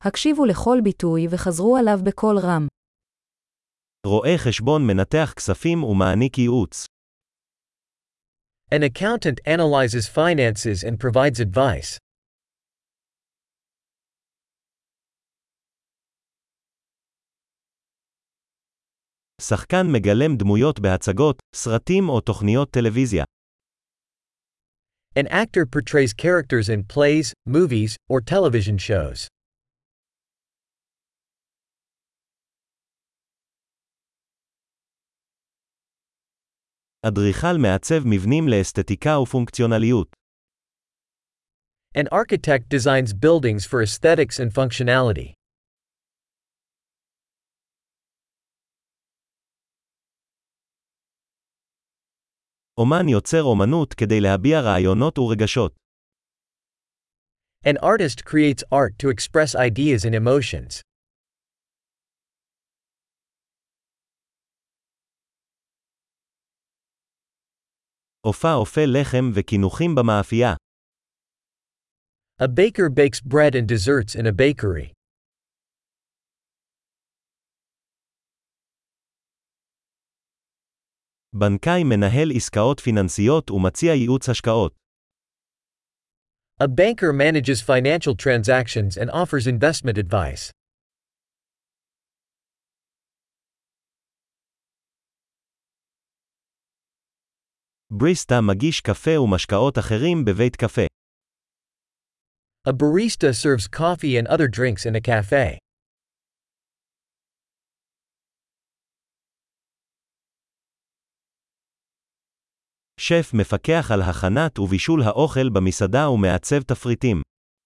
הקשיבו לכל ביטוי וחזרו עליו בקול רם. רואה חשבון מנתח כספים ומעניק ייעוץ. An accountant analyzes finances and provides advice. שחקן מגלם דמויות בהצגות, סרטים או תוכניות טלוויזיה. An actor portrays characters in plays, movies, or television shows. אדריכל מעצב מבנים לאסתטיקה ופונקציונליות. An architect designs buildings for aesthetics and functionality. אומן יוצר אומנות כדי להביע רעיונות ורגשות. An artist creates art to express ideas and emotions. אופה לחם וקינוחים במאפייה. A baker bakes bread and desserts in a bakery. בנקאי מנהל עסקאות פיננסיות ומציע ייעוץ השקעות. A banker manages financial transactions and offers investment advice. בריסטה מגיש קפה ומשקאות אחרים בבית קפה. A barista serves coffee and other drinks in a cafe. שף מפקח על הכנת ובישול האוכל במסעדה ומעצב תפריטים.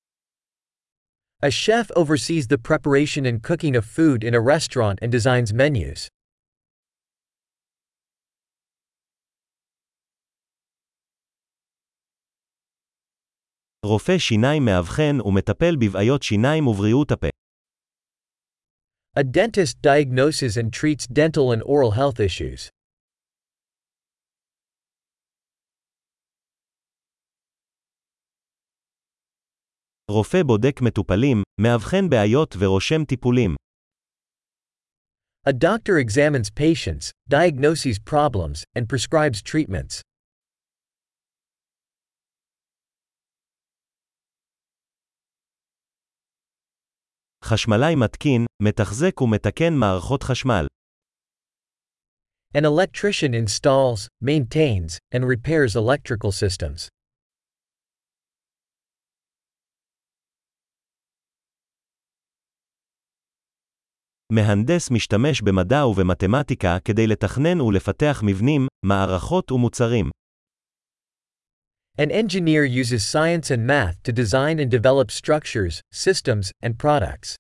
A chef oversees the preparation and cooking of food in a restaurant and designs menus. רופא שיניים מאבחן ומטפל בבעיות שיניים ובריאות הפה. A dentist diagnoses and treats dental and oral health issues. רופא בודק מטופלים, מאבחן בעיות ורושם טיפולים. A doctor examines patients, diagnoses problems, and prescribes treatments. חשמלאי מתקין, מתחזק ומתקן מערכות חשמל. An electrician installs, maintains, and repairs electrical systems. מהנדס משתמש במדע ובמתמטיקה כדי לתכנן ולפתח מבנים, מערכות ומוצרים. An engineer uses science and math to design and develop structures, systems, and products.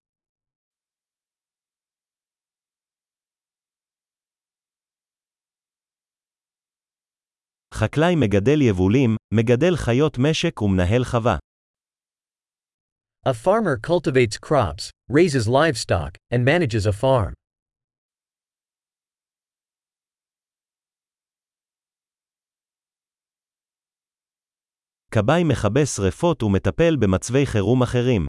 חקלאי מגדל יבולים, מגדל חיות משק ומנהל חווה. A farmer cultivates crops, raises livestock, and manages a farm. כבאי מכבה שריפות ומטפל במצבי חירום אחרים.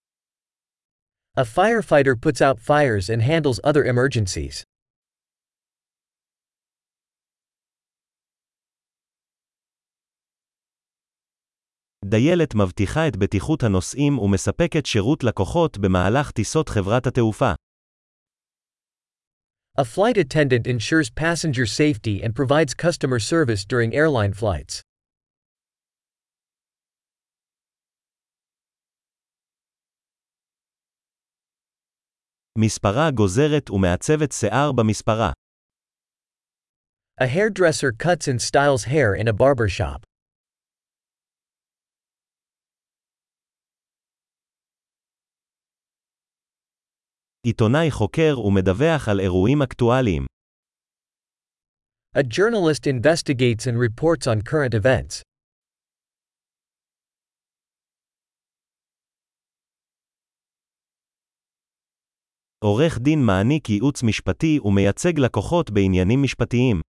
A firefighter puts out fires and handles other emergencies. דיילת מבטיחה את בטיחות הנוסעים ומספקת שירות לקוחות במהלך טיסות חברת התעופה. A flight attendant ensures passenger safety and provides customer service during airline flights. מספרה גוזרת ומעצבת שיער במספרה. A hairdresser cuts and styles hair in a barbershop. עיתונאי חוקר ומדווח על אירועים אקטואליים. A journalist investigates and reports on current events. עורך דין מעניק ייעוץ משפטי ומייצג לקוחות בעניינים משפטיים.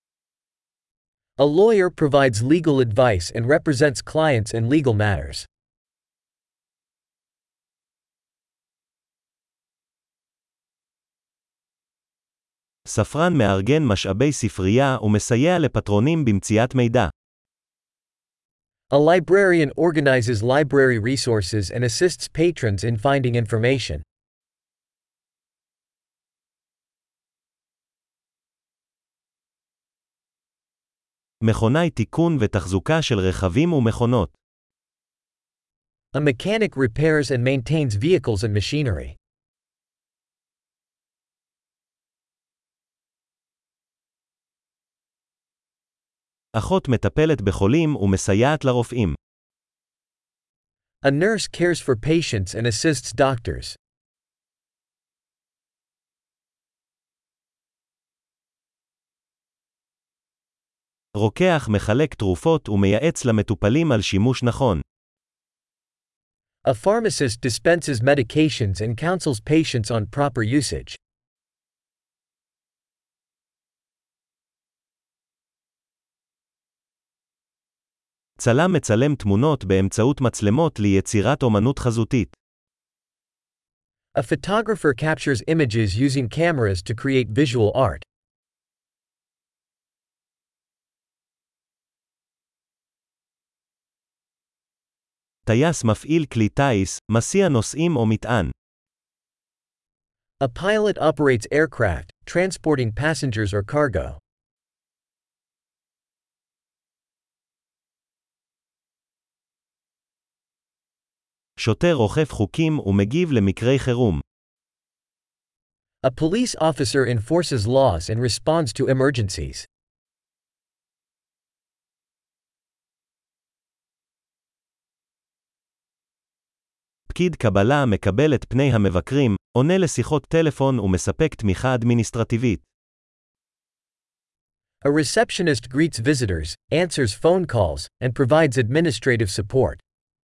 A lawyer provides legal advice and represents clients in legal matters. ספרן מארגן משאבי ספרייה ומסייע לפטרונים במציאת מידע. A librarian organizes library resources and assists patrons in finding information. מכונאי תיקון ותחזוקה של רכבים ומכונות. A mechanic repairs and maintains vehicles and machinery. אחות מטפלת בחולים ומסייעת לרופאים. A nurse cares for patients and assists doctors. רוקח מחלק תרופות ומייעץ למטופלים על שימוש נכון. A pharmacist dispenses medications and counsels patients on proper usage. צלם מצלם תמונות באמצעות מצלמות ליצירת אומנות חזותית. A photographer captures images using cameras to create visual art. טייס מפעיל כלי טיס, מסיע נוסעים או מטען. A pilot operates aircraft, transporting passengers or cargo. שוטר אוכף חוקים ומגיב למקרי חירום. A police officer enforces laws and responds to emergencies. פקיד קבלה מקבל את פני המבקרים, עונה לשיחות טלפון ומספק תמיכה אדמיניסטרטיבית. A receptionist greets visitors, answers phone calls, and provides administrative support.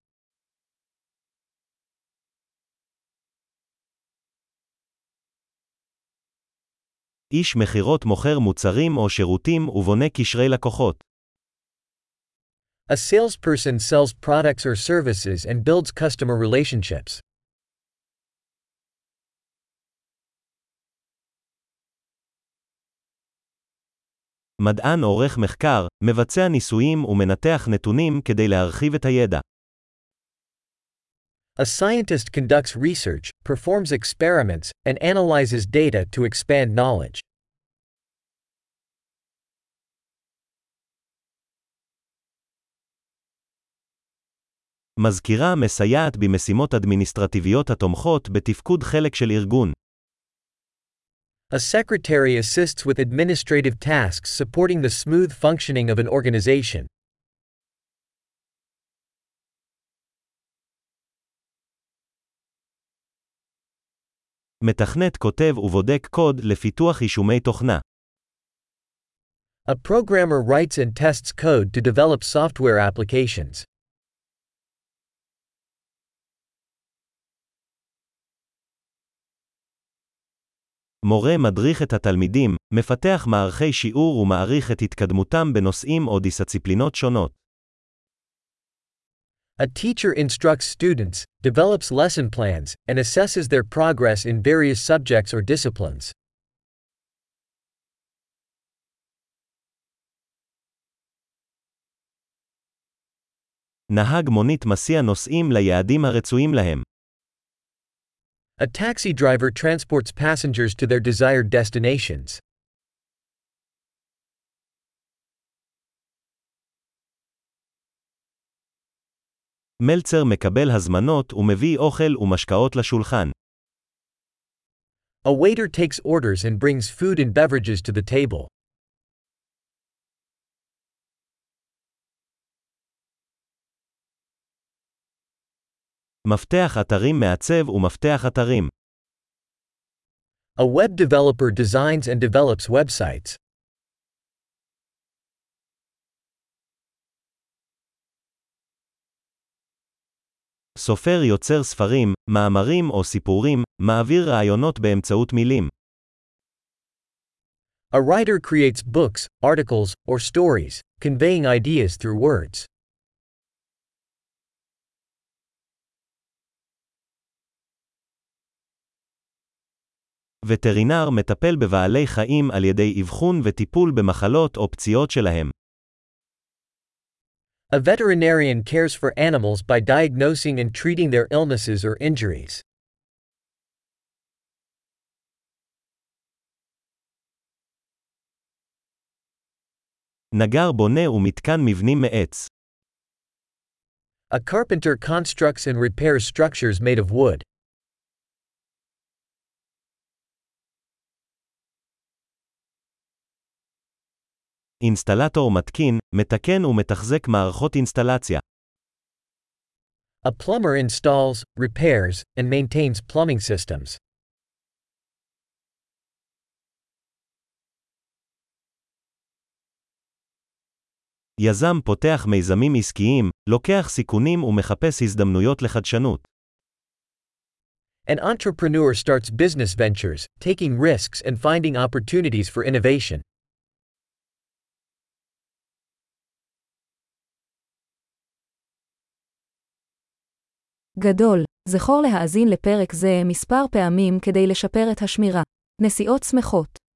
איש מכירות מוכר מוצרים או שירותים ובונה קשרי לקוחות. A salesperson sells products or services and builds customer relationships. מדען עורך מחקר, מבצע ניסויים ומנתח נתונים כדי להרחיב את הידע. A scientist conducts research, performs experiments, and analyzes data to expand knowledge. מזכירה מסייעת במשימות אדמיניסטרטיביות התומכות בתפקוד חלק של ארגון. A secretary assists with administrative tasks supporting the smooth functioning of an organization. מתכנת כותב ובודק קוד לפיתוח יישומי תוכנה. A programmer writes and tests code to develop software applications. מורה מדריך את התלמידים, מפתח מערכי שיעור ומעריך את התקדמותם בנושאים או דיסציפלינות שונות. A teacher instructs students, develops lesson plans, and assesses their progress in various subjects or disciplines. נהג מונית מסיע נוסעים ליעדים הרצויים להם. A taxi driver transports passengers to their desired destinations. מלצר מקבל הזמנות ומביא אוכל ומשקאות לשולחן. A waiter takes orders and brings food and beverages to the table. מפתח אתרים מעצב ומפתח אתרים. A web developer designs and develops websites. סופר יוצר ספרים, מאמרים או סיפורים, מעביר רעיונות באמצעות מילים. A writer creates books, articles, or stories, conveying ideas through words. וטרינר מטפל בבעלי חיים על ידי אבחון וטיפול במחלות או פציעות שלהם. A veterinarian cares for animals by diagnosing and treating their illnesses or injuries. נגר בונה ומתקן מבנים מעץ. A carpenter constructs and repairs structures made of wood. אינסטלטור מתקין, מתקן ומתחזק מערכות אינסטלציה. A plumber installs, repairs, and maintains plumbing systems. יזם פותח מיזמים עסקיים, לוקח סיכונים ומחפש הזדמנויות לחדשנות. An entrepreneur starts business ventures, taking risks and finding opportunities for innovation. גדול, זכור להאזין לפרק זה מספר פעמים כדי לשפר את השמירה. נסיעות שמחות.